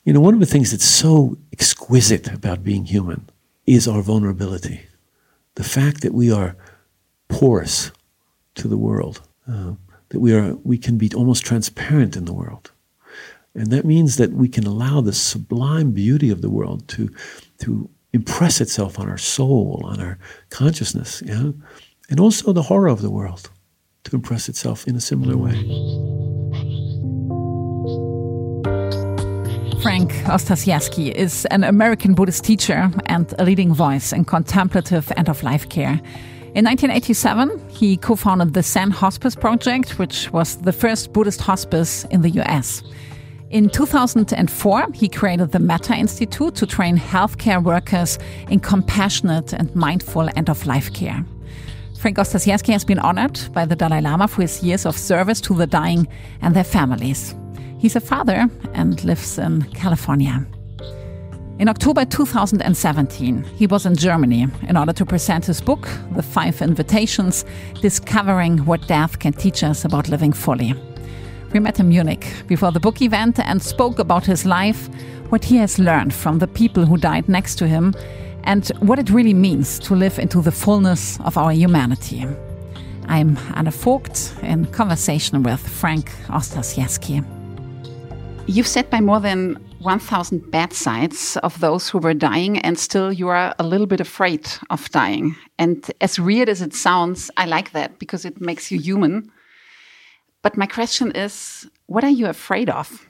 One of the things that's so exquisite about being human is our vulnerability. The fact that we are porous to the world, that we can be almost transparent in the world. And that means that we can allow the sublime beauty of the world to impress itself on our soul, on our consciousness, and also the horror of the world to impress itself in a similar way. Frank Ostasiewski is an American Buddhist teacher and a leading voice in contemplative end-of-life care. In 1987, he co-founded the Zen Hospice Project, which was the first Buddhist hospice in the US. In 2004, he created the Metta Institute to train healthcare workers in compassionate and mindful end-of-life care. Frank Ostasiewski has been honored by the Dalai Lama for his years of service to the dying and their families. He's a father and lives in California. In October 2017, he was in Germany in order to present his book, The 5 Invitations, Discovering What Death Can Teach Us About Living Fully. We met in Munich before the book event and spoke about his life, what he has learned from the people who died next to him, and what it really means to live into the fullness of our humanity. I'm Anne Vogt in conversation with Frank Ostasiewski. You've sat by more than 1,000 bedsides of those who were dying, and still you are a little bit afraid of dying. And as weird as it sounds, I like that because it makes you human. But my question is, what are you afraid of?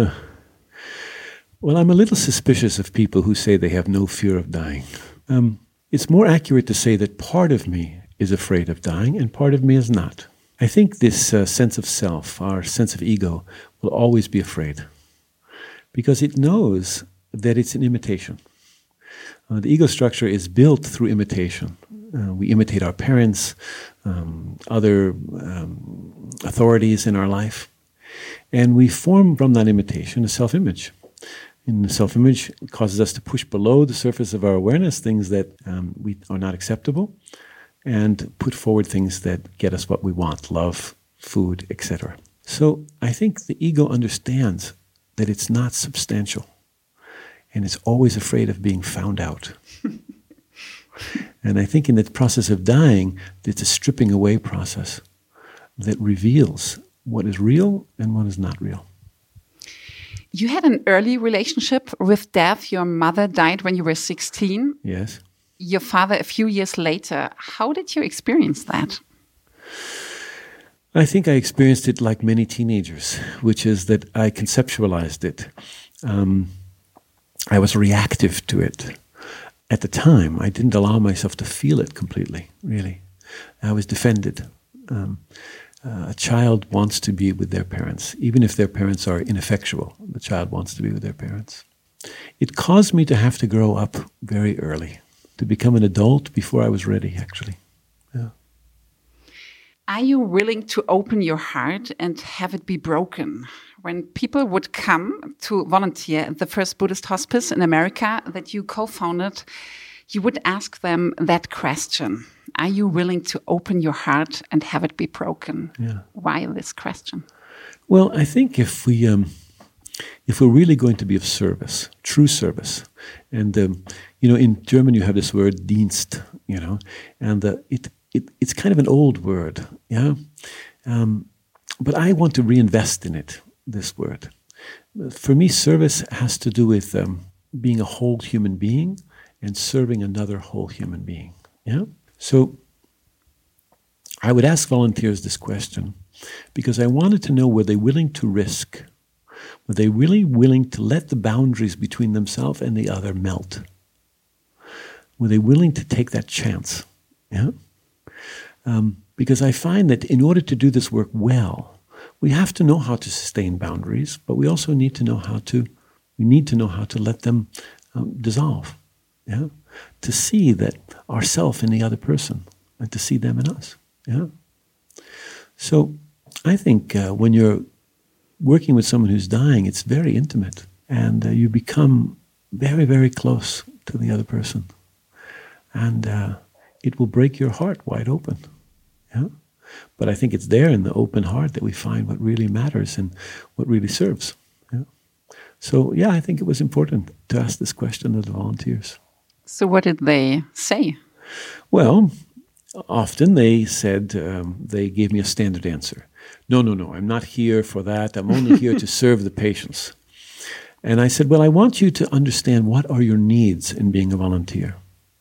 Well, I'm a little suspicious of people who say they have no fear of dying. It's more accurate to say that part of me is afraid of dying and part of me is not. I think this sense of self, our sense of ego, will always be afraid because it knows that it's an imitation. The ego structure is built through imitation. We imitate our parents, other authorities in our life, and we form from that imitation a self-image. And the self-image causes us to push below the surface of our awareness things that we are not acceptable, and put forward things that get us what we want, love, food, etc. So I think the ego understands that it's not substantial, and it's always afraid of being found out. And I think in the process of dying, it's a stripping away process that reveals what is real and what is not real. You had an early relationship with death. Your mother died when you were 16. Yes. Your father a few years later. How did you experience that? I think I experienced it like many teenagers, which is that I conceptualized it. I was reactive to it. At the time, I didn't allow myself to feel it completely, really. I was defended. A child wants to be with their parents, even if their parents are ineffectual. The child wants to be with their parents. It caused me to have to grow up very early, to become an adult before I was ready, actually. Yeah. Are you willing to open your heart and have it be broken? When people would come to volunteer at the first Buddhist hospice in America that you co-founded, you would ask them that question. Are you willing to open your heart and have it be broken? Yeah. Why this question? Well, I think if we're really going to be of service, true service, and in German you have this word Dienst, and it's kind of an old word, yeah. But I want to reinvest in it, this word. For me, service has to do with being a whole human being and serving another whole human being. Yeah. So I would ask volunteers this question because I wanted to know, were they willing to risk? Were they really willing to let the boundaries between themselves and the other melt? Were they willing to take that chance? Yeah. Because I find that in order to do this work well, we have to know how to sustain boundaries, but we also need to know how to let them dissolve. Yeah, to see that ourself in the other person, and to see them in us. Yeah. So I think when you're working with someone who's dying, it's very intimate, and you become very, very close to the other person, and it will break your heart wide open. Yeah. But I think it's there in the open heart that we find what really matters and what really serves. Yeah. So, yeah, I think it was important to ask this question of the volunteers. So what did they say? Well, often they said, they gave me a standard answer. No, I'm not here for that. I'm only here to serve the patients. And I said, well, I want you to understand what are your needs in being a volunteer.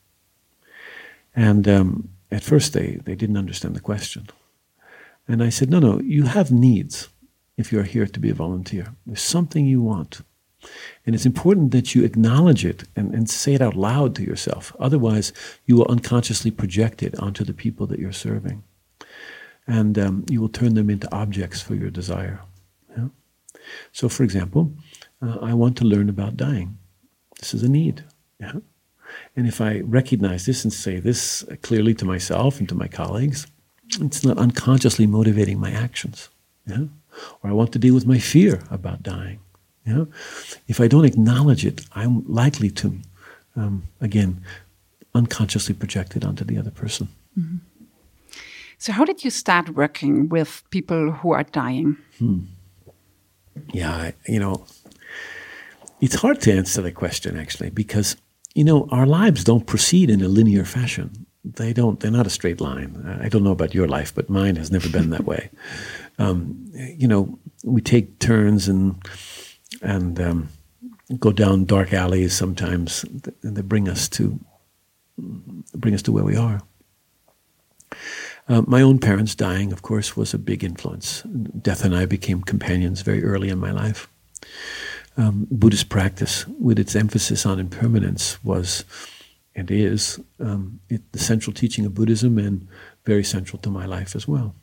And at first they didn't understand the question. And I said, no, you have needs if you're here to be a volunteer. There's something you want. And it's important that you acknowledge it and say it out loud to yourself. Otherwise, you will unconsciously project it onto the people that you're serving. And you will turn them into objects for your desire. Yeah? So, for example, I want to learn about dying. This is a need. Yeah? And if I recognize this and say this clearly to myself and to my colleagues, it's not unconsciously motivating my actions. Yeah? Or I want to deal with my fear about dying. Yeah? If I don't acknowledge it, I'm likely to, again, unconsciously project it onto the other person. Mm-hmm. So how did you start working with people who are dying? Yeah, it's hard to answer the question, actually, because, our lives don't proceed in a linear fashion. They're not a straight line. I don't know about your life, but mine has never been that way. We take turns and go down dark alleys sometimes, and they bring us to where we are. My own parents dying, of course, was a big influence. Death and I became companions very early in my life. Buddhist practice, with its emphasis on impermanence, was and is the central teaching of Buddhism and very central to my life as well.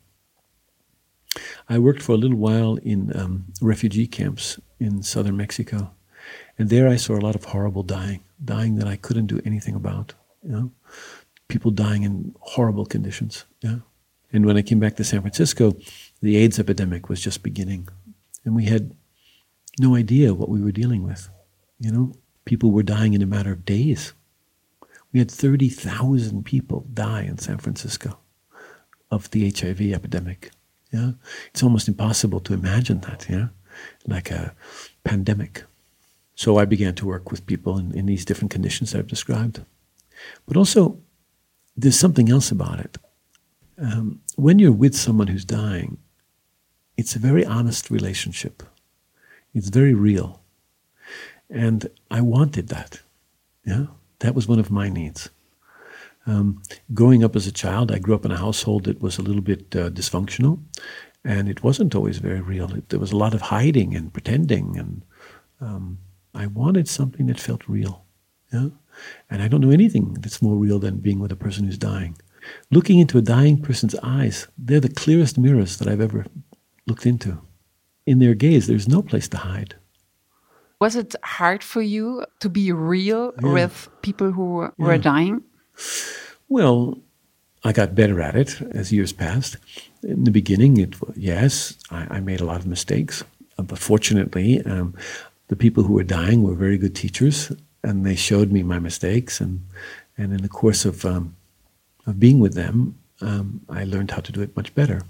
I worked for a little while in refugee camps in southern Mexico, and there I saw a lot of horrible dying that I couldn't do anything about. People dying in horrible conditions. Yeah. And when I came back to San Francisco, the AIDS epidemic was just beginning, and we had no idea what we were dealing with. People were dying in a matter of days. We had 30,000 people die in San Francisco of the HIV epidemic. Yeah, it's almost impossible to imagine that. Yeah, like a pandemic. So I began to work with people in these different conditions that I've described. But also, there's something else about it. When you're with someone who's dying, it's a very honest relationship. It's very real. And I wanted that. Yeah, that was one of my needs. Growing up as a child, I grew up in a household that was a little bit dysfunctional, and it wasn't always very real. There was a lot of hiding and pretending, and I wanted something that felt real. Yeah? And I don't know anything that's more real than being with a person who's dying. Looking into a dying person's eyes, they're the clearest mirrors that I've ever looked into. In their gaze, there's no place to hide. Was it hard for you to be real with people who were dying? Well, I got better at it as years passed. In the beginning, I made a lot of mistakes. But fortunately, the people who were dying were very good teachers, and they showed me my mistakes. And in the course of being with them, I learned how to do it much better.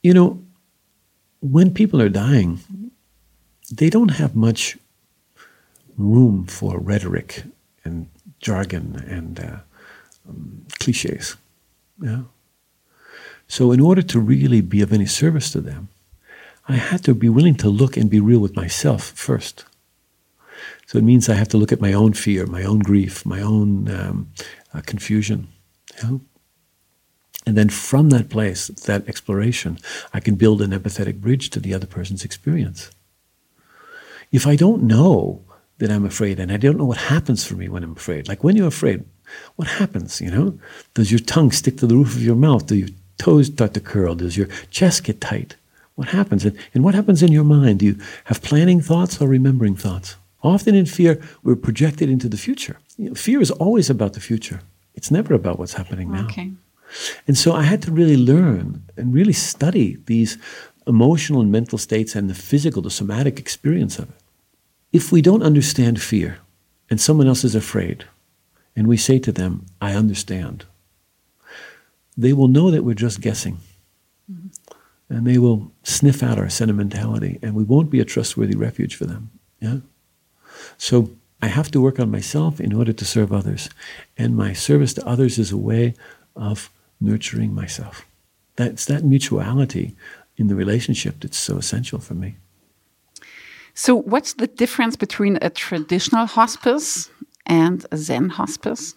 When people are dying, they don't have much room for rhetoric and jargon and cliches. Yeah. So in order to really be of any service to them, I had to be willing to look and be real with myself first. So it means I have to look at my own fear, my own grief, my own confusion. Yeah? And then from that place, that exploration, I can build an empathetic bridge to the other person's experience. If I don't know that I'm afraid, and I don't know what happens for me when I'm afraid, like when you're afraid, what happens, Does your tongue stick to the roof of your mouth? Do your toes start to curl? Does your chest get tight? What happens? And what happens in your mind? Do you have planning thoughts or remembering thoughts? Often in fear, we're projected into the future. Fear is always about the future. It's never about what's happening now. Okay. And so I had to really learn and really study these emotional and mental states and the somatic experience of it. If we don't understand fear and someone else is afraid, and we say to them, I understand, they will know that we're just guessing. Mm-hmm. And they will sniff out our sentimentality, and we won't be a trustworthy refuge for them. Yeah? So I have to work on myself in order to serve others. And my service to others is a way of nurturing myself. That's that mutuality in the relationship that's so essential for me. So what's the difference between a traditional hospice and a Zen hospice?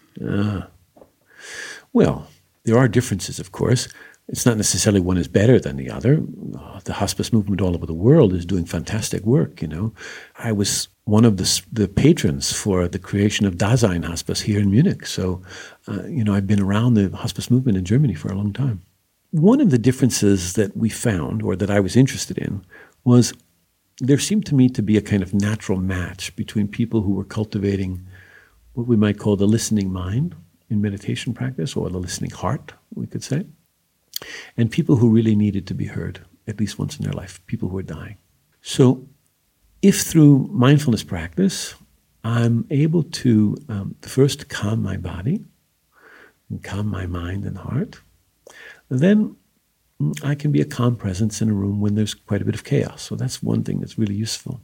Well, there are differences, of course. It's not necessarily one is better than the other. The hospice movement all over the world is doing fantastic work, I was one of the patrons for the creation of Dasein Hospice here in Munich. So, I've been around the hospice movement in Germany for a long time. One of the differences that we found, or that I was interested in, was there seemed to me to be a kind of natural match between people who were cultivating what we might call the listening mind in meditation practice, or the listening heart, we could say, and people who really needed to be heard, at least once in their life, people who are dying. So if through mindfulness practice, I'm able to first calm my body, and calm my mind and heart, then I can be a calm presence in a room when there's quite a bit of chaos. So that's one thing that's really useful.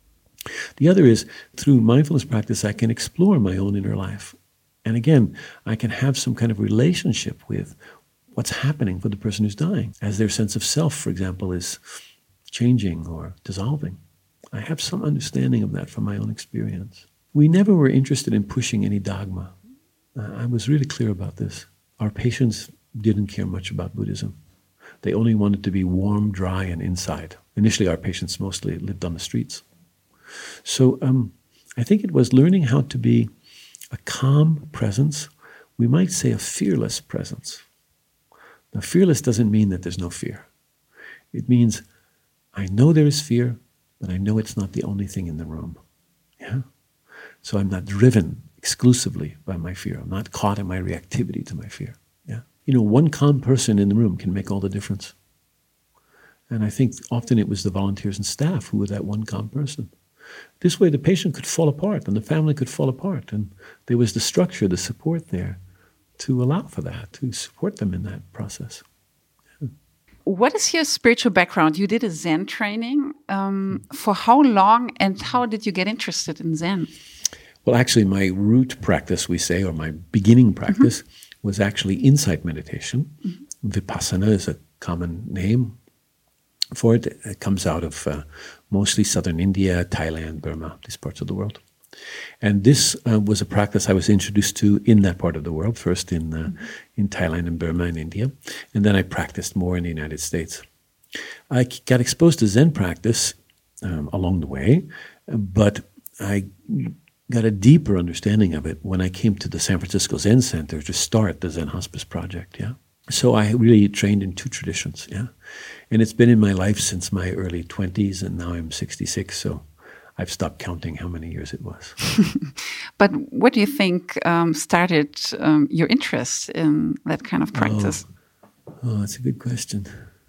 The other is, through mindfulness practice, I can explore my own inner life. And again, I can have some kind of relationship with what's happening for the person who's dying, as their sense of self, for example, is changing or dissolving. I have some understanding of that from my own experience. We never were interested in pushing any dogma. I was really clear about this. Our patients didn't care much about Buddhism. They only wanted to be warm, dry, and inside. Initially, our patients mostly lived on the streets. So I think it was learning how to be a calm presence. We might say a fearless presence. Now, fearless doesn't mean that there's no fear. It means I know there is fear, but I know it's not the only thing in the room. Yeah? So I'm not driven exclusively by my fear. I'm not caught in my reactivity to my fear. Yeah? One calm person in the room can make all the difference. And I think often it was the volunteers and staff who were that one calm person. This way the patient could fall apart and the family could fall apart. And there was the structure, the support there to allow for that, to support them in that process. Yeah. What is your spiritual background? You did a Zen training. For how long and how did you get interested in Zen? Well, actually, my root practice, we say, or my beginning practice, was actually insight meditation. Vipassana is a common name for it. It comes out of mostly southern India, Thailand, Burma, these parts of the world. And this was a practice I was introduced to in that part of the world, first in Thailand and Burma and India, and then I practiced more in the United States. I got exposed to Zen practice along the way, but I got a deeper understanding of it when I came to the San Francisco Zen Center to start the Zen Hospice Project, yeah. So I really trained in two traditions, yeah. And it's been in my life since my early 20s, and now I'm 66, so I've stopped counting how many years it was. But what do you think started your interest in that kind of practice? Oh, that's a good question.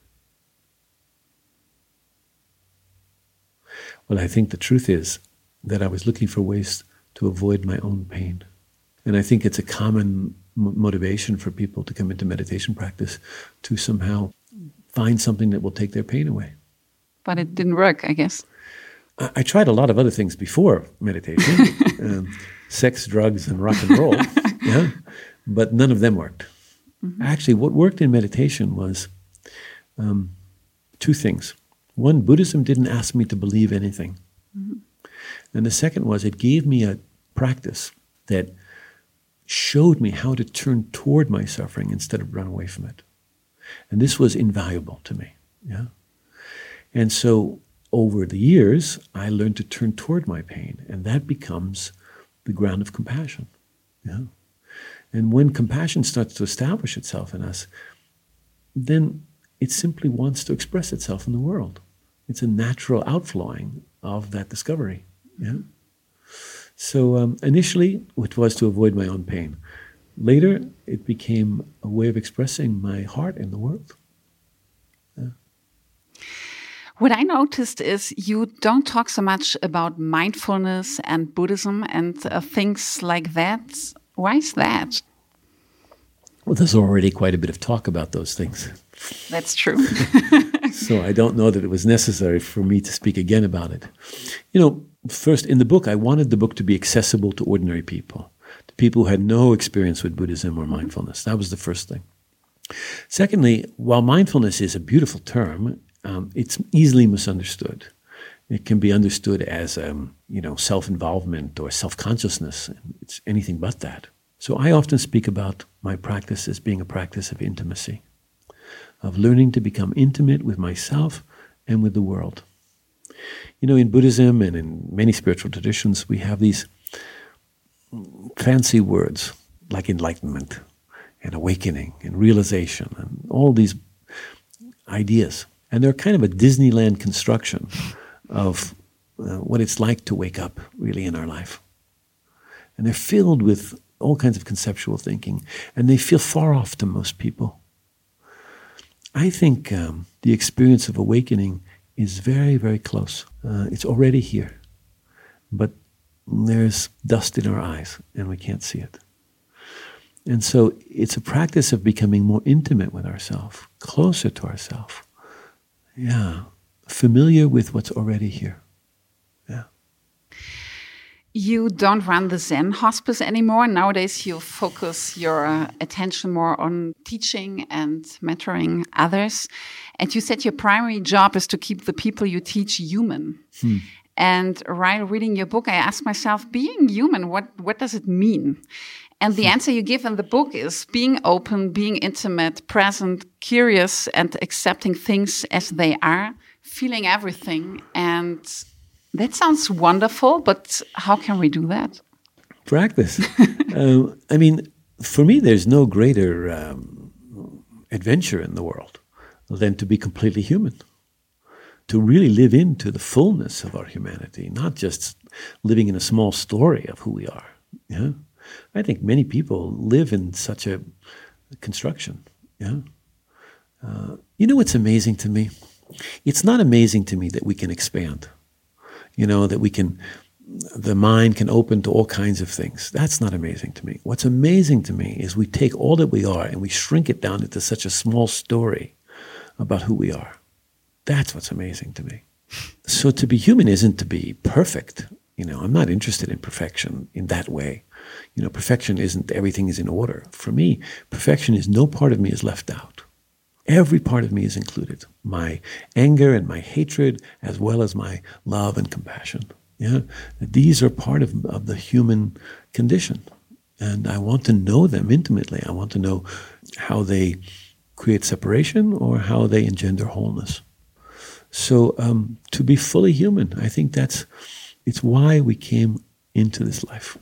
Well, I think the truth is that I was looking for ways to avoid my own pain. And I think it's a common motivation for people to come into meditation practice to somehow find something that will take their pain away. But it didn't work, I guess. I tried a lot of other things before meditation, sex, drugs, and rock and roll, yeah, but none of them worked. Actually, what worked in meditation was two things. One, Buddhism didn't ask me to believe anything. And the second was it gave me a practice that showed me how to turn toward my suffering instead of run away from it. And this was invaluable to me, yeah. And so over the years, I learned to turn toward my pain, and that becomes the ground of compassion. Yeah? And when compassion starts to establish itself in us, then it simply wants to express itself in the world. It's a natural outflowing of that discovery. Yeah? So initially, it was to avoid my own pain. Later, it became a way of expressing my heart in the world. Yeah. What I noticed is you don't talk so much about mindfulness and Buddhism and things like that. Why is that? Well, there's already quite a bit of talk about those things. That's true. So I don't know that it was necessary for me to speak again about it. You know, first, in the book, I wanted the book to be accessible to ordinary people, to people who had no experience with Buddhism or mindfulness. That was the first thing. Secondly, while mindfulness is a beautiful term, it's easily misunderstood. It can be understood as, self-involvement or self-consciousness. It's anything but that. So I often speak about my practice as being a practice of intimacy, of learning to become intimate with myself and with the world. In Buddhism and in many spiritual traditions, we have these fancy words like enlightenment and awakening and realization and all these ideas. And they're kind of a Disneyland construction of what it's like to wake up really in our life. And they're filled with all kinds of conceptual thinking, and they feel far off to most people. I think the experience of awakening is very, very close. It's already here, but there's dust in our eyes, and we can't see it. And so it's a practice of becoming more intimate with ourselves, closer to ourselves. Yeah, familiar with what's already here. Yeah. You don't run the Zen hospice anymore. Nowadays, you focus your attention more on teaching and mentoring others. And you said your primary job is to keep the people you teach human. And while reading your book, I asked myself, being human, what does it mean? And the answer you give in the book is being open, being intimate, present, curious, and accepting things as they are, feeling everything. And that sounds wonderful, but how can we do that? Practice. For me, there's no greater adventure in the world than to be completely human, to really live into the fullness of our humanity, not just living in a small story of who we are. Yeah, I think many people live in such a construction. Yeah, what's amazing to me? It's not amazing to me that we can expand. That the mind can open to all kinds of things. That's not amazing to me. What's amazing to me is we take all that we are and we shrink it down into such a small story about who we are. That's what's amazing to me. So to be human isn't to be perfect. I'm not interested in perfection in that way. Perfection isn't everything is in order. For me, perfection is no part of me is left out. Every part of me is included. My anger and my hatred, as well as my love and compassion. Yeah, these are part of the human condition. And I want to know them intimately. I want to know how they create separation or how they engender wholeness. So to be fully human, I think it's why we came into this life.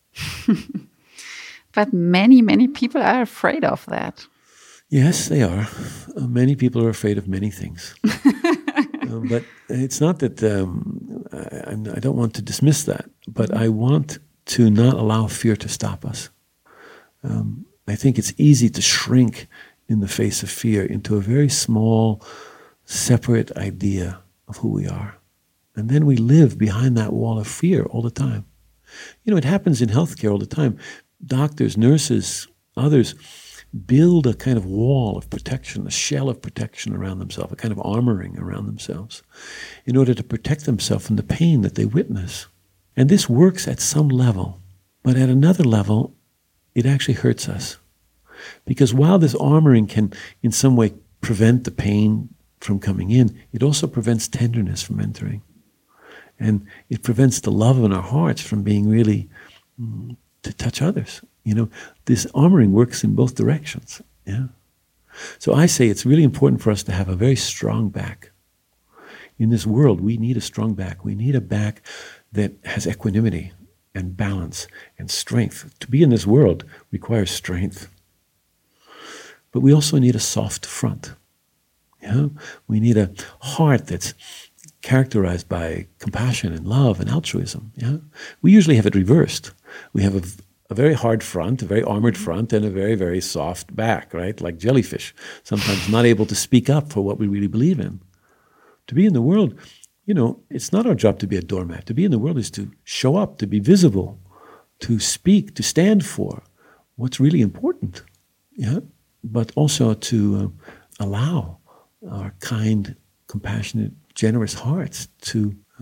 But many, many people are afraid of that. Yes, they are. Many people are afraid of many things. But it's not that I don't want to dismiss that, but I want to not allow fear to stop us. I think it's easy to shrink in the face of fear into a very small, separate idea of who we are. And then we live behind that wall of fear all the time. It happens in healthcare all the time. Doctors, nurses, others build a kind of wall of protection, a shell of protection around themselves, a kind of armoring around themselves, in order to protect themselves from the pain that they witness. And this works at some level, but at another level, it actually hurts us. Because while this armoring can, in some way, prevent the pain from coming in, it also prevents tenderness from entering. And it prevents the love in our hearts from being really to touch others. This armoring works in both directions. Yeah. So I say it's really important for us to have a very strong back. In this world, we need a strong back. We need a back that has equanimity and balance and strength. To be in this world requires strength. But we also need a soft front. Yeah? We need a heart that's characterized by compassion and love and altruism. Yeah? We usually have it reversed. We have a very hard front, a very armored front, and a very, very soft back, right? Like jellyfish, sometimes not able to speak up for what we really believe in. To be in the world, it's not our job to be a doormat. To be in the world is to show up, to be visible, to speak, to stand for what's really important. Yeah? But also to allow our kind, compassionate, generous hearts to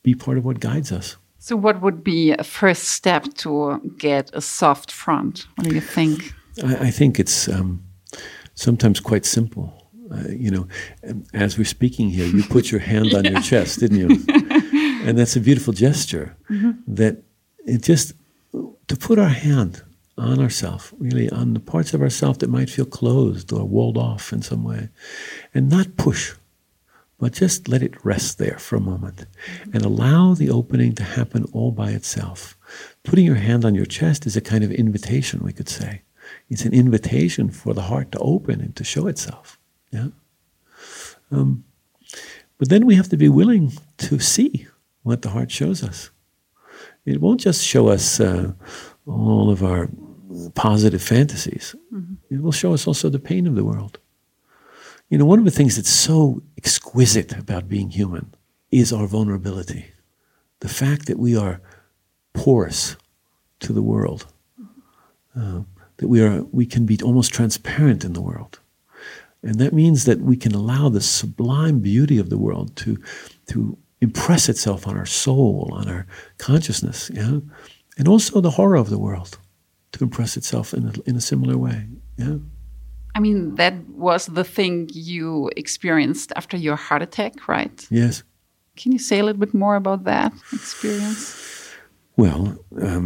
be part of what guides us. So what would be a first step to get a soft front? What do you think? I think it's sometimes quite simple. As we're speaking here, you put your hand on your chest, didn't you? And that's a beautiful gesture. That it just, to put our hand on ourselves, really on the parts of ourselves that might feel closed or walled off in some way, and not push, but just let it rest there for a moment and allow the opening to happen all by itself. Putting your hand on your chest is a kind of invitation, we could say. It's an invitation for the heart to open and to show itself. Yeah. But then we have to be willing to see what the heart shows us. It won't just show us all of our positive fantasies. It will show us also the pain of the world. One of the things that's so exquisite about being human is our vulnerability. The fact that we are porous to the world, that we can be almost transparent in the world. And that means that we can allow the sublime beauty of the world to impress itself on our soul, on our consciousness, yeah? And also the horror of the world to impress itself in a similar way. Yeah. I mean, that was the thing you experienced after your heart attack, right? Yes. Can you say a little bit more about that experience? Well,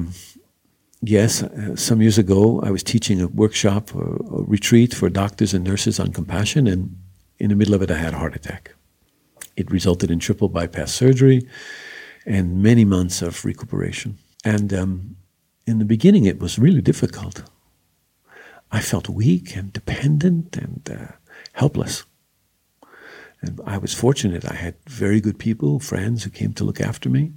yes. Some years ago, I was teaching a workshop, a retreat for doctors and nurses on compassion, and in the middle of it, I had a heart attack. It resulted in triple bypass surgery and many months of recuperation. And in the beginning, it was really difficult. I felt weak and dependent and helpless. And I was fortunate. I had very good people, friends who came to look after me.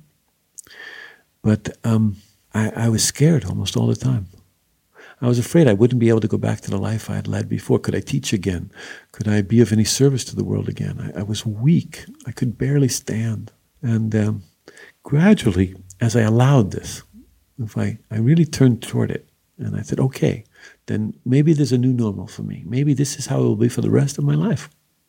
But I was scared almost all the time. I was afraid I wouldn't be able to go back to the life I had led before. Could I teach again? Could I be of any service to the world again? I was weak. I could barely stand. And gradually, as I allowed this, if I really turned toward it, and I said, okay, then maybe there's a new normal for me. Maybe this is how it will be for the rest of my life.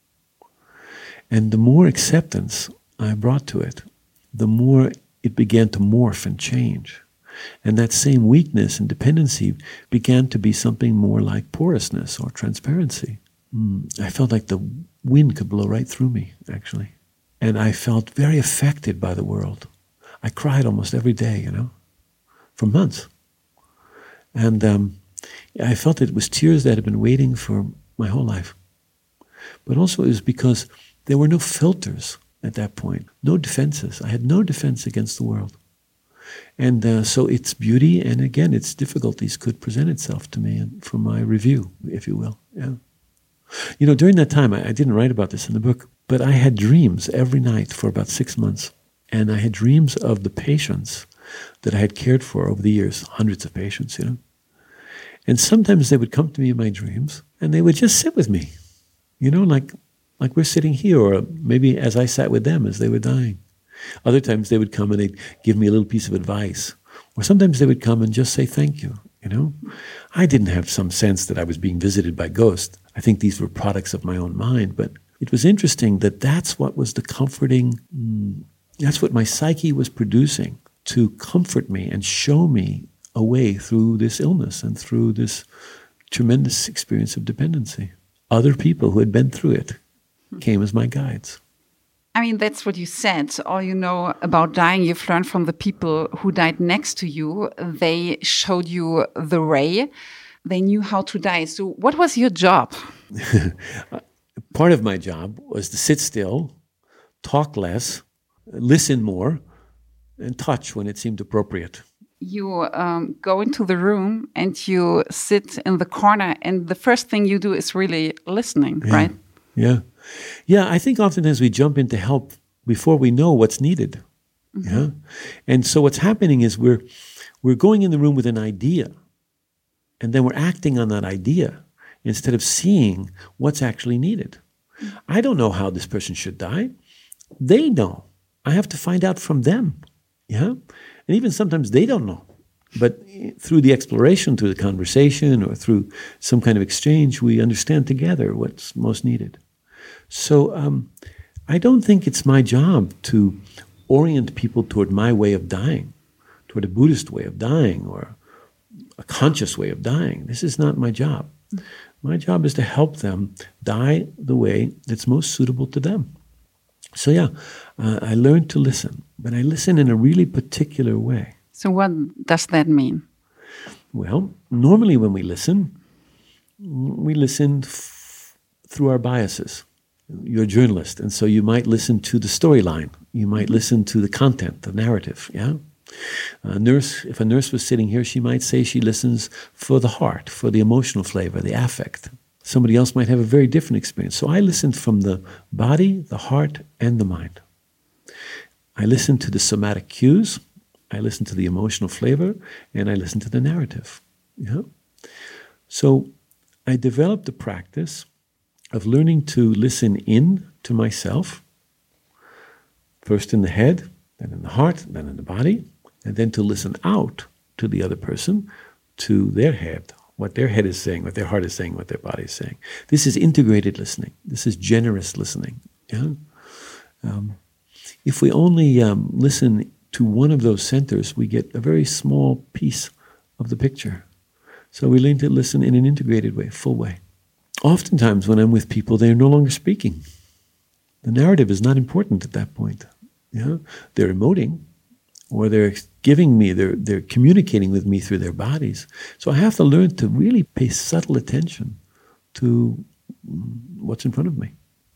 And the more acceptance I brought to it, the more it began to morph and change. And that same weakness and dependency began to be something more like porousness or transparency. I felt like the wind could blow right through me, actually. And I felt very affected by the world. I cried almost every day, for months. And I felt it was tears that had been waiting for my whole life. But also it was because there were no filters at that point, no defenses. I had no defense against the world. And so its beauty and, again, its difficulties could present itself to me for my review, if you will. Yeah. During that time, I didn't write about this in the book, but I had dreams every night for about 6 months. And I had dreams of the patients that I had cared for over the years, hundreds of patients, And sometimes they would come to me in my dreams, and they would just sit with me, like we're sitting here, or maybe as I sat with them as they were dying. Other times they would come and they'd give me a little piece of advice. Or sometimes they would come and just say thank you, I didn't have some sense that I was being visited by ghosts. I think these were products of my own mind. But it was interesting that that's what was the comforting, that's what my psyche was producing to comfort me and show me a way through this illness and through this tremendous experience of dependency. Other people who had been through it came as my guides. I mean, that's what you said. All you know about dying, you've learned from the people who died next to you. They showed you the way. They knew how to die. So what was your job? Part of my job was to sit still, talk less, listen more, and touch when it seemed appropriate. You go into the room and you sit in the corner, and the first thing you do is really listening, right? Yeah. Yeah, I think oftentimes we jump in to help before we know what's needed. Mm-hmm. Yeah. And so what's happening is we're going in the room with an idea, and then we're acting on that idea instead of seeing what's actually needed. Mm-hmm. I don't know how this person should die. They know. I have to find out from them. Yeah. And even sometimes they don't know. But through the exploration, through the conversation, or through some kind of exchange, we understand together what's most needed. So I don't think it's my job to orient people toward my way of dying, toward a Buddhist way of dying or a conscious way of dying. This is not my job. My job is to help them die the way that's most suitable to them. So I learned to listen, but I listen in a really particular way. So what does that mean? Well, normally when we listen through our biases. You're a journalist, and so you might listen to the storyline. You might listen to the content, the narrative, yeah? If a nurse was sitting here, she might say she listens for the heart, for the emotional flavor, the affect. Somebody else might have a very different experience. So I listened from the body, the heart, and the mind. I listened to the somatic cues, I listened to the emotional flavor, and I listened to the narrative. Yeah? So I developed the practice of learning to listen in to myself, first in the head, then in the heart, then in the body, and then to listen out to the other person, to their head, what their head is saying, what their heart is saying, what their body is saying. This is integrated listening. This is generous listening. Yeah? If we only listen to one of those centers, we get a very small piece of the picture. So we learn to listen in an integrated way, full way. Oftentimes when I'm with people, they're no longer speaking. The narrative is not important at that point. Yeah? They're emoting, or they're giving me, they're communicating with me through their bodies. So I have to learn to really pay subtle attention to what's in front of me.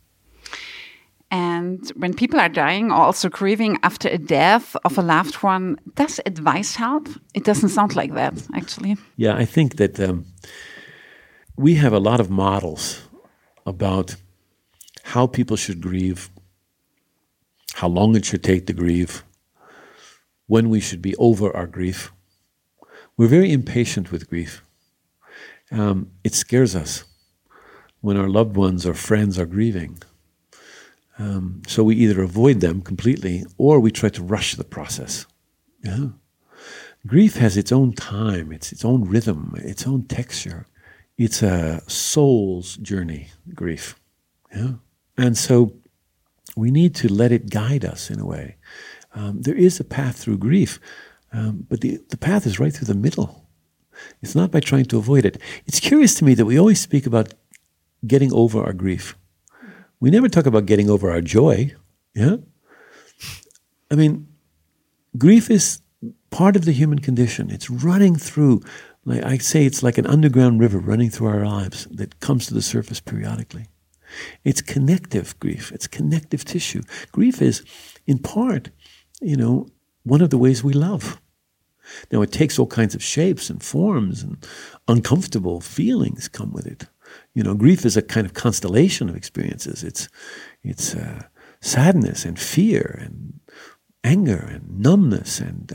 And when people are dying or also grieving after a death of a loved one, does advice help? It doesn't sound like that, actually. Yeah, I think that we have a lot of models about how people should grieve, how long it should take to grieve, when we should be over our grief. We're very impatient with grief. It scares us when our loved ones or friends are grieving. So we either avoid them completely or we try to rush the process. Yeah. Grief has its own time, its own rhythm, its own texture. It's a soul's journey, grief. Yeah. And so we need to let it guide us in a way. There is a path through grief, but the path is right through the middle. It's not by trying to avoid it. It's curious to me that we always speak about getting over our grief. We never talk about getting over our joy. Yeah? I mean, grief is part of the human condition. It's running through, like I say, it's like an underground river running through our lives that comes to the surface periodically. It's connective grief. It's connective tissue. Grief is, in part, one of the ways we love. Now, it takes all kinds of shapes and forms, and uncomfortable feelings come with it. Grief is a kind of constellation of experiences. It's sadness and fear and anger and numbness and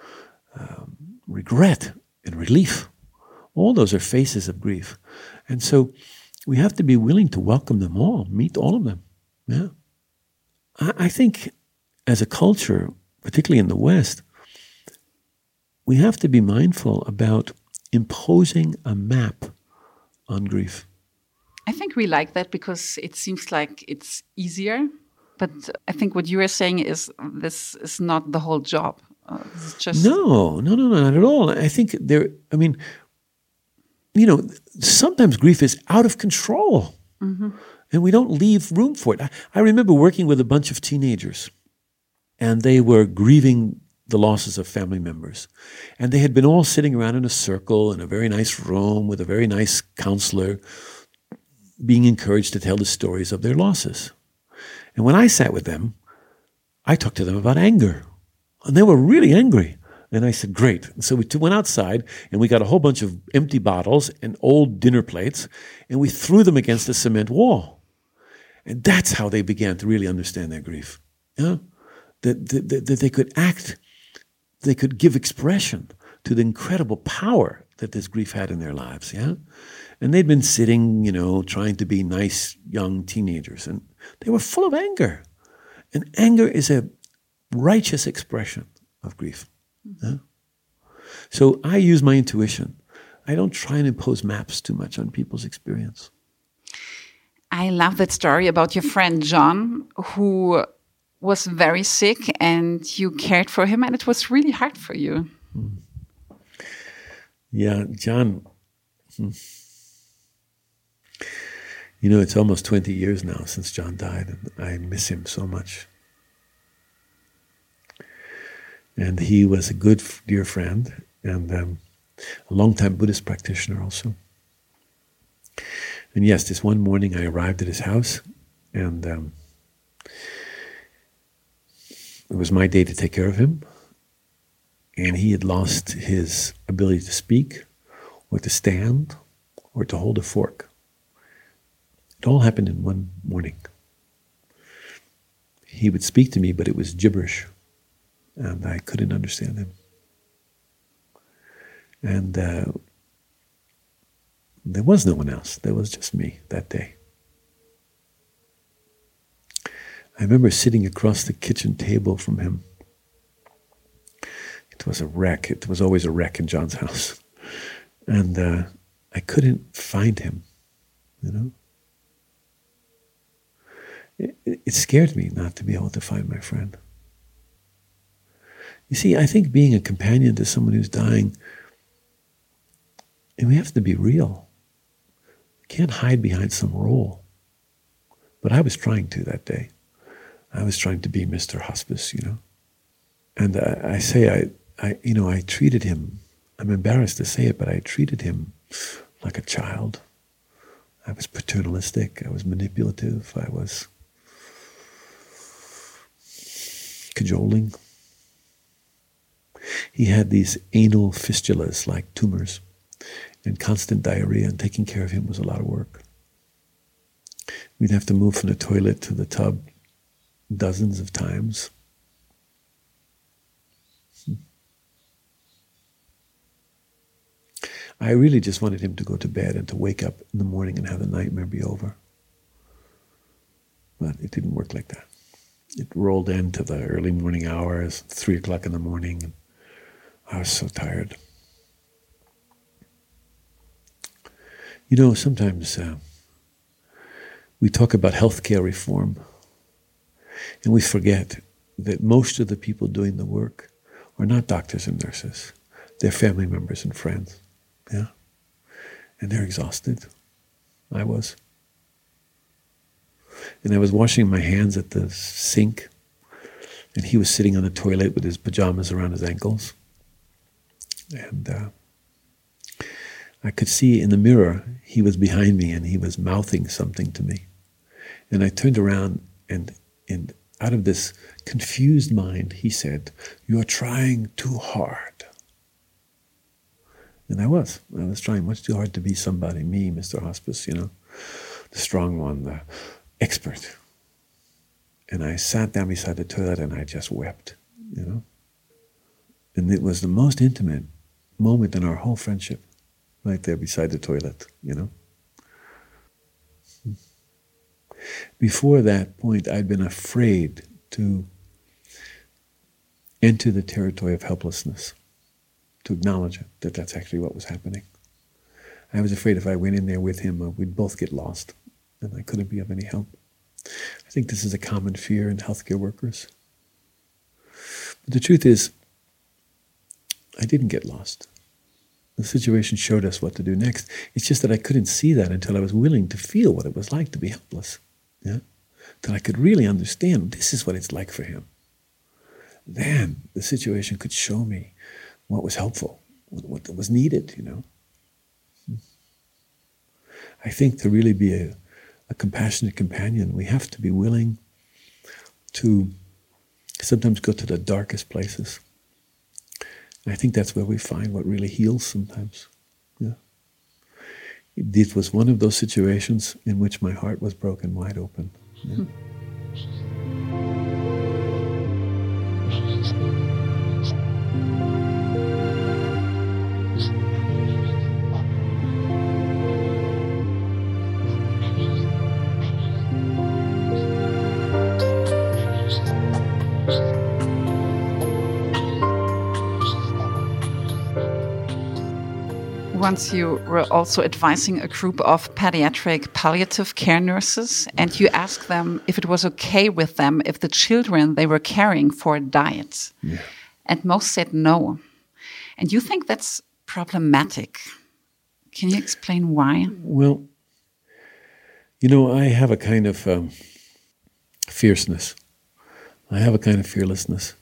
regret and relief. All those are faces of grief. And so we have to be willing to welcome them all, meet all of them. Yeah. I think as a culture, particularly in the West, we have to be mindful about imposing a map on grief. I think we like that because it seems like it's easier. But I think what you are saying is this is not the whole job. It's just No, not at all. I think sometimes grief is out of control. Mm-hmm. And we don't leave room for it. I remember working with a bunch of teenagers, and they were grieving the losses of family members. And they had been all sitting around in a circle in a very nice room with a very nice counselor, being encouraged to tell the stories of their losses. And when I sat with them, I talked to them about anger. And they were really angry. And I said, great. And so we went outside, and we got a whole bunch of empty bottles and old dinner plates, and we threw them against a cement wall. And that's how they began to really understand their grief. Yeah? That they could act, they could give expression to the incredible power that this grief had in their lives. Yeah? And they'd been sitting, trying to be nice young teenagers, and they were full of anger. And anger is a righteous expression of grief. Yeah? So I use my intuition. I don't try and impose maps too much on people's experience. I love that story about your friend John, who was very sick and you cared for him, and it was really hard for you. Yeah, John, it's almost 20 years now since John died, and I miss him so much. And he was a good, dear friend, and a long-time Buddhist practitioner also. And yes, this one morning I arrived at his house, and it was my day to take care of him. And he had lost his ability to speak, or to stand, or to hold a fork. It all happened in one morning. He would speak to me, but it was gibberish, and I couldn't understand him. And there was no one else. There was just me that day. I remember sitting across the kitchen table from him. It was a wreck. It was always a wreck in John's house. And I couldn't find him, It scared me not to be able to find my friend. You see, I think being a companion to someone who's dying, and we have to be real. We can't hide behind some role. But I was trying to that day. I was trying to be Mr. Hospice, And I treated him, I'm embarrassed to say it, but I treated him like a child. I was paternalistic, I was manipulative, I was cajoling. He had these anal fistulas like tumors and constant diarrhea, and taking care of him was a lot of work. We'd have to move from the toilet to the tub dozens of times. I really just wanted him to go to bed and to wake up in the morning and have the nightmare be over. But it didn't work like that. It rolled into the early morning hours, 3 o'clock in the morning, and I was so tired. Sometimes we talk about healthcare reform, and we forget that most of the people doing the work are not doctors and nurses. They're family members and friends. Yeah. And they're exhausted. I was. And I was washing my hands at the sink, and he was sitting on the toilet with his pajamas around his ankles. And I could see in the mirror, he was behind me and he was mouthing something to me. And I turned around, and out of this confused mind, he said, "You're trying too hard." And I was trying much too hard to be somebody, me, Mr. Hospice, the strong one, the expert. And I sat down beside the toilet and I just wept, And it was the most intimate moment in our whole friendship, right there beside the toilet, Before that point, I'd been afraid to enter the territory of helplessness, to acknowledge it, that that's actually what was happening. I was afraid if I went in there with him, we'd both get lost, and I couldn't be of any help. I think this is a common fear in healthcare workers. But the truth is, I didn't get lost. The situation showed us what to do next. It's just that I couldn't see that until I was willing to feel what it was like to be helpless. Yeah? Till I could really understand this is what it's like for him. Then the situation could show me what was helpful, what was needed, I think to really be a compassionate companion, we have to be willing to sometimes go to the darkest places. And I think that's where we find what really heals sometimes. Yeah. It was one of those situations in which my heart was broken wide open. Yeah. Once you were also advising a group of pediatric palliative care nurses, and you asked them if it was okay with them if the children they were caring for died. Yeah. And most said no. And you think that's problematic. Can you explain why? Well, you know, I have a kind of fierceness. I have a kind of fearlessness.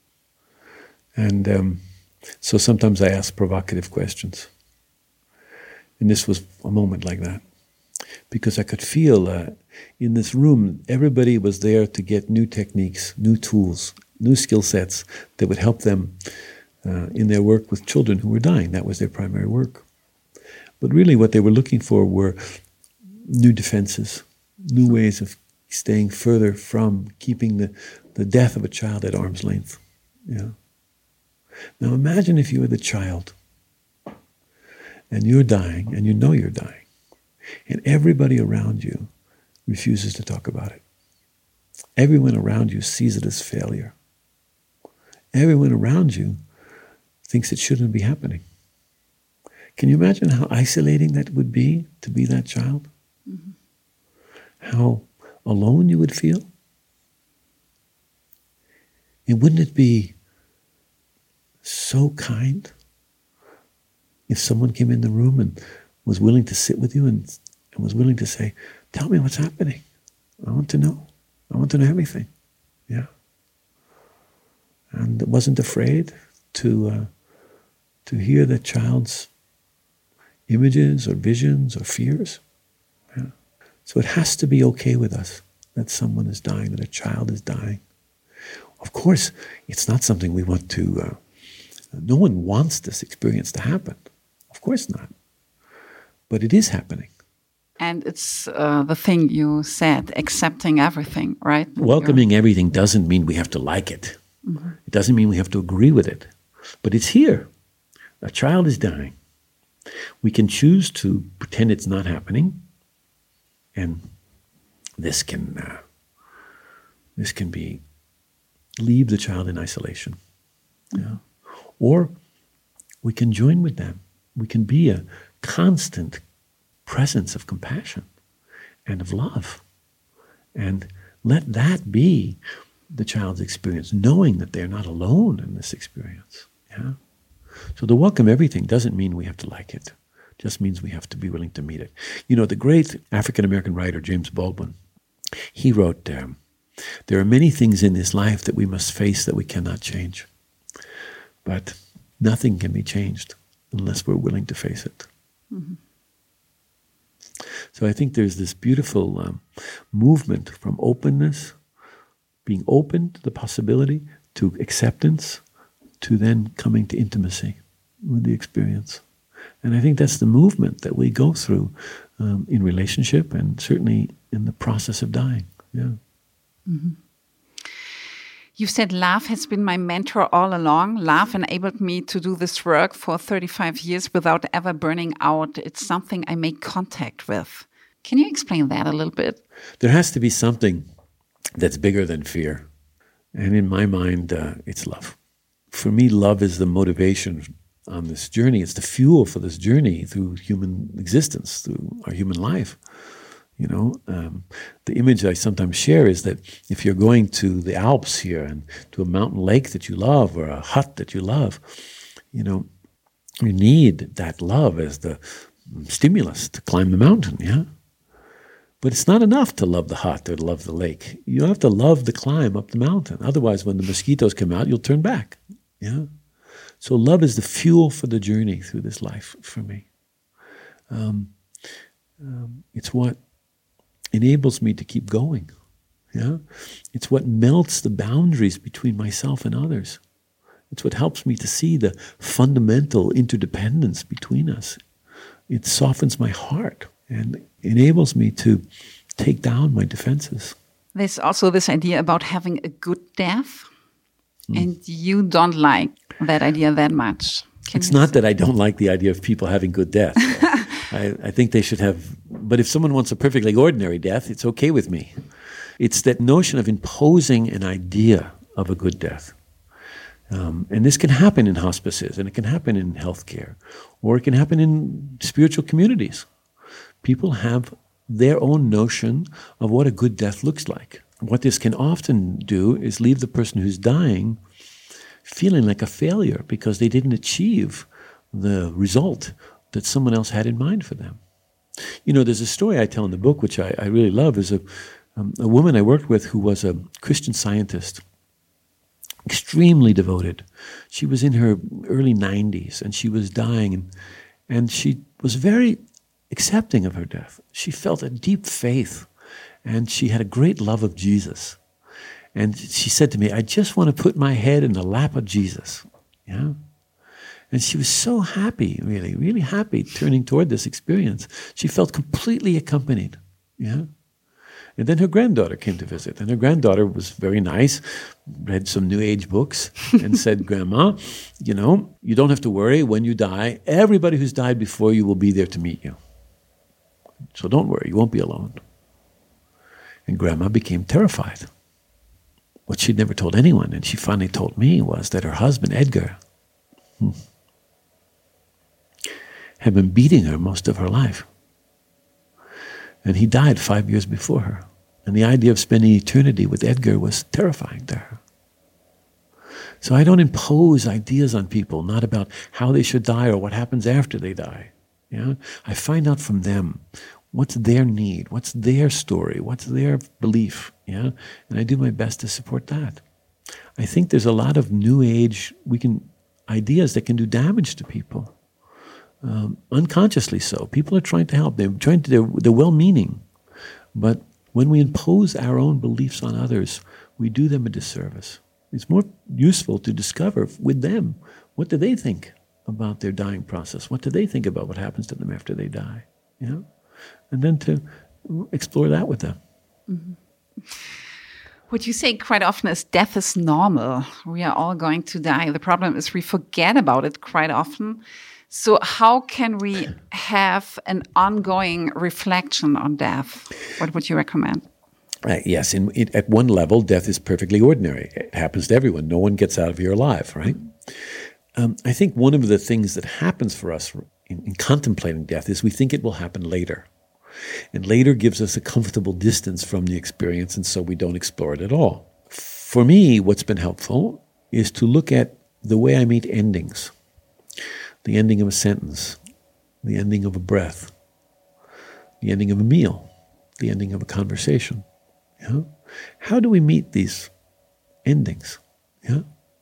And so sometimes I ask provocative questions. And this was a moment like that. Because I could feel in this room, everybody was there to get new techniques, new tools, new skill sets that would help them in their work with children who were dying. That was their primary work. But really what they were looking for were new defenses, new ways of staying further from keeping the death of a child at arm's length. Yeah. Now imagine if you were the child and you're dying and you know you're dying and everybody around you refuses to talk about it. Everyone around you sees it as failure. Everyone around you thinks it shouldn't be happening. Can you imagine how isolating that would be to be that child? Mm-hmm. How alone you would feel? And wouldn't it be so kind if someone came in the room and was willing to sit with you and was willing to say, tell me what's happening. I want to know. I want to know everything. Yeah. And wasn't afraid to hear the child's images or visions or fears. Yeah. So it has to be okay with us that someone is dying, that a child is dying. Of course, it's not something we want to, no one wants this experience to happen. Of course not. But it is happening. And it's the thing you said, accepting everything, right? Welcoming everything doesn't mean we have to like it. Mm-hmm. It doesn't mean we have to agree with it. But it's here. A child is dying. We can choose to pretend it's not happening, and this can be leave the child in isolation. Yeah. Or we can join with them. We can be a constant presence of compassion and of love, and let that be the child's experience, knowing that they're not alone in this experience. Yeah. So to welcome everything doesn't mean we have to like it. It just means we have to be willing to meet it. You know, the great African-American writer James Baldwin, he wrote, there are many things in this life that we must face that we cannot change. But nothing can be changed unless we're willing to face it. Mm-hmm. So I think there's this beautiful movement from openness, being open to the possibility, to acceptance, to then coming to intimacy with the experience. And I think that's the movement that we go through in relationship and certainly in the process of dying. Yeah. Mm-hmm. You said love has been my mentor all along. Love enabled me to do this work for 35 years without ever burning out. It's something I make contact with. Can you explain that a little bit? There has to be something that's bigger than fear. And in my mind, it's love. For me, love is the motivation on this journey. It's the fuel for this journey through human existence, through our human life. You know, the image I sometimes share is that if you're going to the Alps here and to a mountain lake that you love or a hut that you love, you know, you need that love as the stimulus to climb the mountain, yeah? But it's not enough to love the hut or to love the lake. You have to love the climb up the mountain. Otherwise, when the mosquitoes come out, you'll turn back, yeah? So love is the fuel for the journey through this life for me. It's what enables me to keep going. Yeah, it's what melts the boundaries between myself and others. It's what helps me to see the fundamental interdependence between us. It softens my heart and enables me to take down my defenses. There's also this idea about having a good death, and you don't like that idea that much. It's not that I don't like the idea of people having good death. I think they should have, but if someone wants a perfectly ordinary death, it's okay with me. It's that notion of imposing an idea of a good death. And this can happen in hospices, and it can happen in healthcare, or it can happen in spiritual communities. People have their own notion of what a good death looks like. What this can often do is leave the person who's dying feeling like a failure because they didn't achieve the result that someone else had in mind for them. You know, there's a story I tell in the book, which I really love, is a woman I worked with who was a Christian Scientist, extremely devoted. She was in her early 90s, and she was dying, and she was very accepting of her death. She felt a deep faith, and she had a great love of Jesus. And she said to me, I just want to put my head in the lap of Jesus. Yeah. And she was so happy, really, really happy turning toward this experience. She felt completely accompanied. Yeah. And then her granddaughter came to visit. And her granddaughter was very nice, read some New Age books, and said, Grandma, you know, you don't have to worry. When you die, everybody who's died before you will be there to meet you. So don't worry, you won't be alone. And Grandma became terrified. What she'd never told anyone, and she finally told me, was that her husband, Edgar, had been beating her most of her life. And he died 5 years before her. And the idea of spending eternity with Edgar was terrifying to her. So I don't impose ideas on people, not about how they should die or what happens after they die. Yeah? I find out from them what's their need, what's their story, what's their belief. Yeah? And I do my best to support that. I think there's a lot of New Age ideas that can do damage to people. Unconsciously so. People are trying to help. They're well-meaning. But when we impose our own beliefs on others, we do them a disservice. It's more useful to discover with them, what do they think about their dying process? What do they think about what happens to them after they die? You know? And then to explore that with them. Mm-hmm. What you say quite often is death is normal. We are all going to die. The problem is we forget about it quite often. So how can we have an ongoing reflection on death? What would you recommend? Yes, at one level, death is perfectly ordinary. It happens to everyone. No one gets out of here alive, right? I think one of the things that happens for us in contemplating death is we think it will happen later. And later gives us a comfortable distance from the experience, and so we don't explore it at all. For me, what's been helpful is to look at the way I meet endings. The ending of a sentence, the ending of a breath, the ending of a meal, the ending of a conversation. Yeah? How do we meet these endings? Yeah?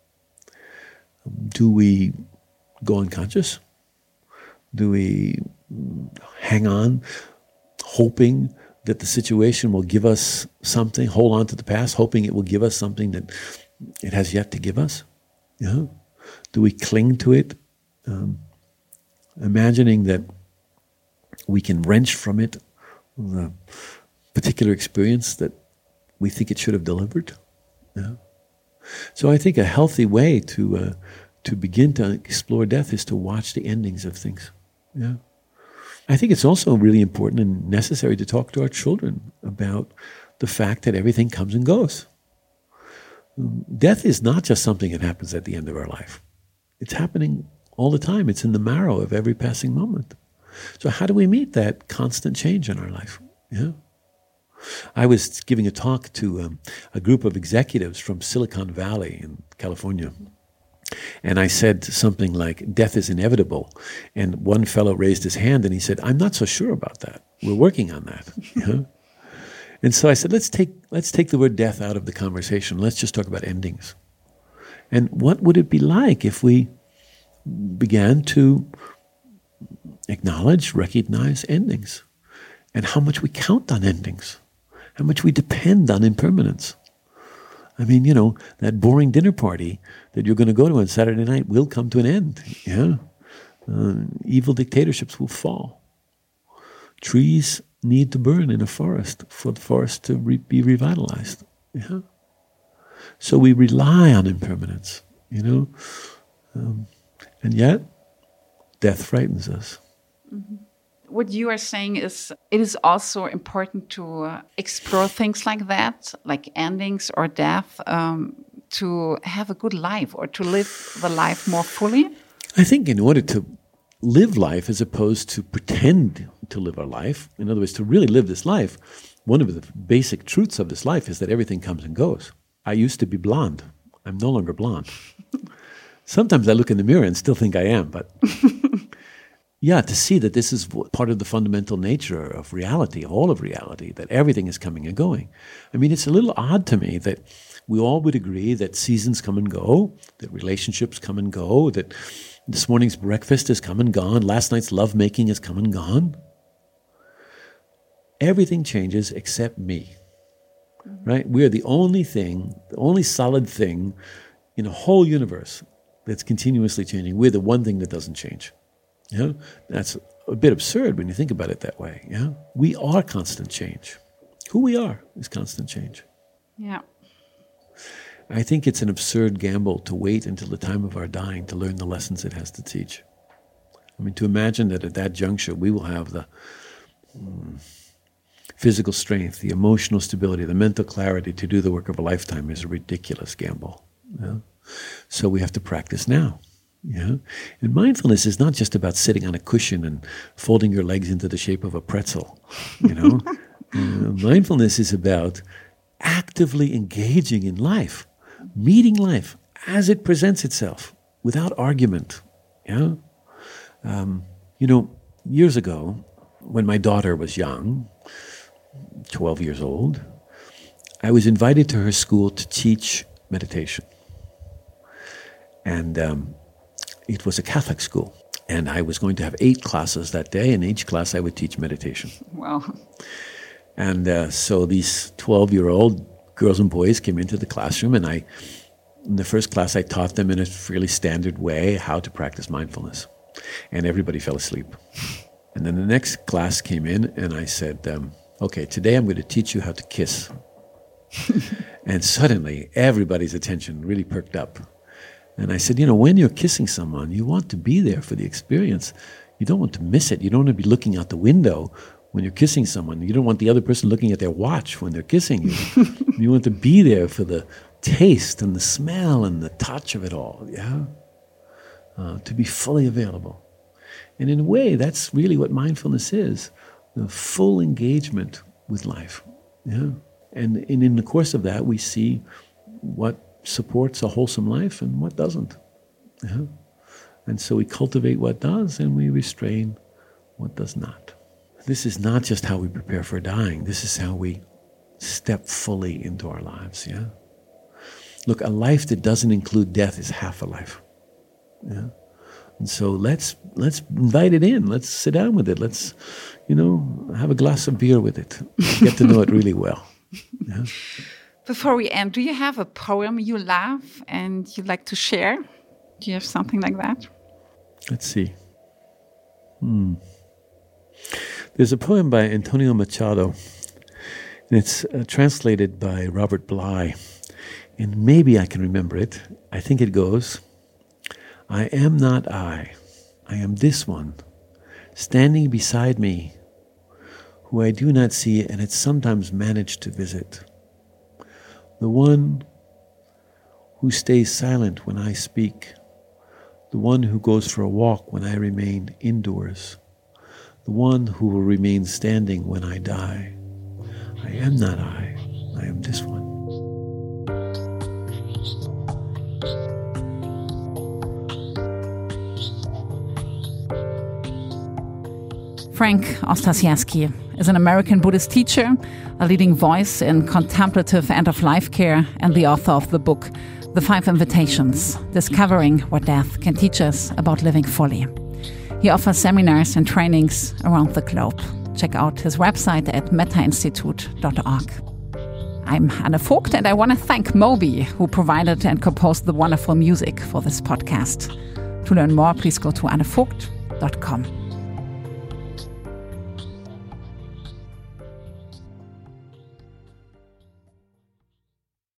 Do we go unconscious? Do we hang on, hoping that the situation will give us something, hold on to the past, hoping it will give us something that it has yet to give us? Yeah? Do we cling to it? Imagining that we can wrench from it the particular experience that we think it should have delivered. Yeah. So I think a healthy way to begin to explore death is to watch the endings of things. Yeah. I think it's also really important and necessary to talk to our children about the fact that everything comes and goes. Death is not just something that happens at the end of our life. It's happening all the time. It's in the marrow of every passing moment. So how do we meet that constant change in our life? Yeah. I was giving a talk to a group of executives from Silicon Valley in California. And I said something like, death is inevitable. And one fellow raised his hand and he said, I'm not so sure about that. We're working on that. Yeah. And so I said, let's take the word death out of the conversation. Let's just talk about endings. And what would it be like if we began to acknowledge, recognize endings, and how much we count on endings, how much we depend on impermanence. I mean, you know, that boring dinner party that you're going to go to on Saturday night will come to an end. Yeah, evil dictatorships will fall. Trees need to burn in a forest for the forest to be revitalized. Yeah, so we rely on impermanence. You know. And yet, death frightens us. Mm-hmm. What you are saying is it is also important to explore things like that, like endings or death, to have a good life or to live the life more fully? I think in order to live life as opposed to pretend to live our life, in other words, to really live this life, one of the basic truths of this life is that everything comes and goes. I used to be blonde. I'm no longer blonde. Sometimes I look in the mirror and still think I am, but yeah, to see that this is part of the fundamental nature of reality, all of reality, that everything is coming and going. I mean, it's a little odd to me that we all would agree that seasons come and go, that relationships come and go, that this morning's breakfast has come and gone, last night's lovemaking has come and gone. Everything changes except me, right? We are the only thing, the only solid thing in a whole universe that's continuously changing. We're the one thing that doesn't change. Yeah, that's a bit absurd when you think about it that way. Yeah, we are constant change. Who we are is constant change. Yeah. I think it's an absurd gamble to wait until the time of our dying to learn the lessons it has to teach. I mean, to imagine that at that juncture we will have the physical strength, the emotional stability, the mental clarity to do the work of a lifetime is a ridiculous gamble. Yeah? So we have to practice now. Yeah? And mindfulness is not just about sitting on a cushion and folding your legs into the shape of a pretzel. You know, mindfulness is about actively engaging in life, meeting life as it presents itself, without argument. Yeah, years ago, when my daughter was young, 12 years old, I was invited to her school to teach meditation, and it was a Catholic school, and I was going to have 8 classes that day, and each class I would teach meditation. Wow. And so these 12-year-old girls and boys came into the classroom, and in the first class I taught them in a fairly standard way how to practice mindfulness. And everybody fell asleep. And then the next class came in, and I said, okay, today I'm going to teach you how to kiss. And suddenly everybody's attention really perked up. And I said, when you're kissing someone, you want to be there for the experience. You don't want to miss it. You don't want to be looking out the window when you're kissing someone. You don't want the other person looking at their watch when they're kissing you. You want to be there for the taste and the smell and the touch of it all, yeah? To be fully available. And in a way, that's really what mindfulness is, the full engagement with life, yeah? And in the course of that, we see what supports a wholesome life and what doesn't. Yeah? And so we cultivate what does and we restrain what does not. This is not just how we prepare for dying. This is how we step fully into our lives. Yeah. Look, a life that doesn't include death is half a life. Yeah. And so let's invite it in. Let's sit down with it. Let's, have a glass of beer with it. Get to know it really well. Yeah. Before we end, do you have a poem you love and you'd like to share? Do you have something like that? Let's see. There's a poem by Antonio Machado, and it's translated by Robert Bly, and maybe I can remember it. I think it goes, I am not I am this one, standing beside me, who I do not see and had sometimes managed to visit. The one who stays silent when I speak, the one who goes for a walk when I remain indoors, the one who will remain standing when I die. I am not I am this one. Frank Ostasiewski is an American Buddhist teacher, a leading voice in contemplative end-of-life care, and the author of the book, The 5 Invitations, Discovering What Death Can Teach Us About Living Fully. He offers seminars and trainings around the globe. Check out his website at metainstitute.org. I'm Anne Vogt, and I want to thank Moby, who provided and composed the wonderful music for this podcast. To learn more, please go to annevogt.com.